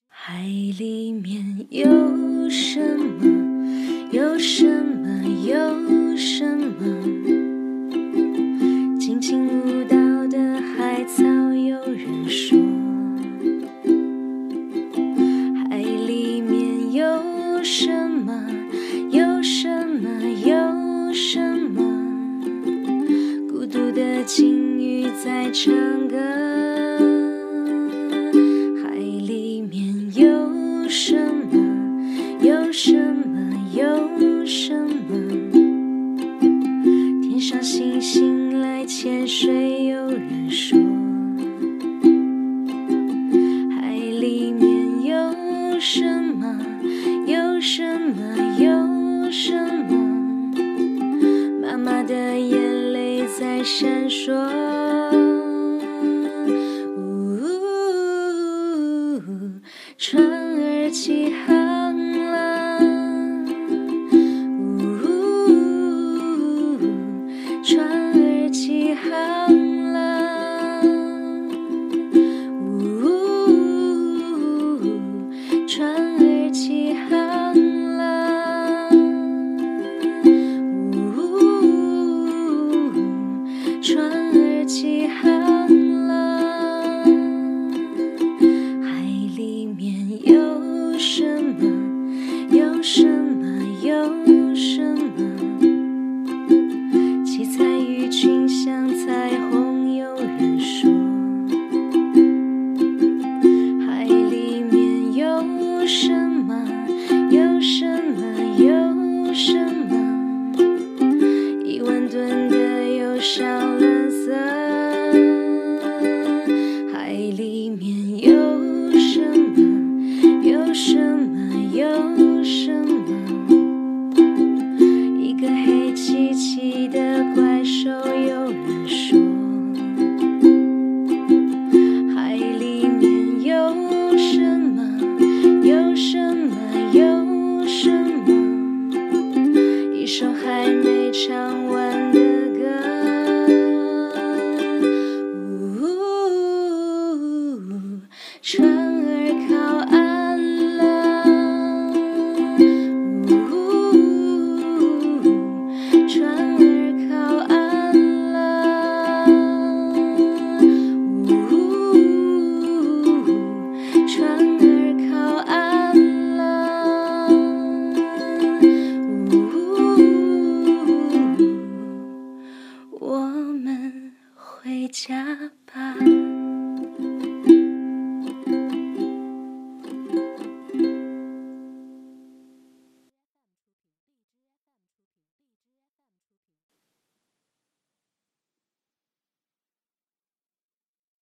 海里面有什么？有什么？有什么？轻轻舞蹈的海草，有人说。海里面有什么？有什么？有什么？孤独的鲸鱼在唱歌。有什么？有什么？有什么？天上星星来潜水，有人说。海里面有什么？有什么？有什么？妈妈的眼泪在闪烁。船儿起航了，船儿起航了，船儿起航了，船儿起航了。有什么？有什么？有什么？七彩鱼群像彩虹，有人说。海里面有什么？有什么？有什么？1万吨的油少了色。海里面有什么？有什么？有什么？一个黑漆漆的怪兽，有人说。海里面有什么？有什么？有什么？一首还没唱完的歌。